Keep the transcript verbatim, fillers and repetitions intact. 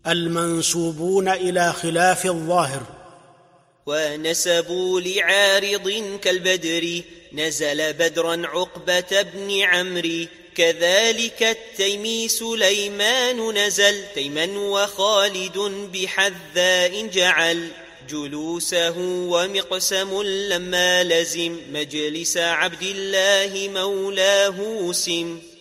المنسوبون إلى خلاف الظاهر. ونسبوا لعارض كالبدر نزل بدرا عقبة بن عمرو، كذلك التيمي سليمان نزل تيما وخالد بحذاء جعل جلوسه، ومقسم لما لزم مجلس عبد الله مولاه سم.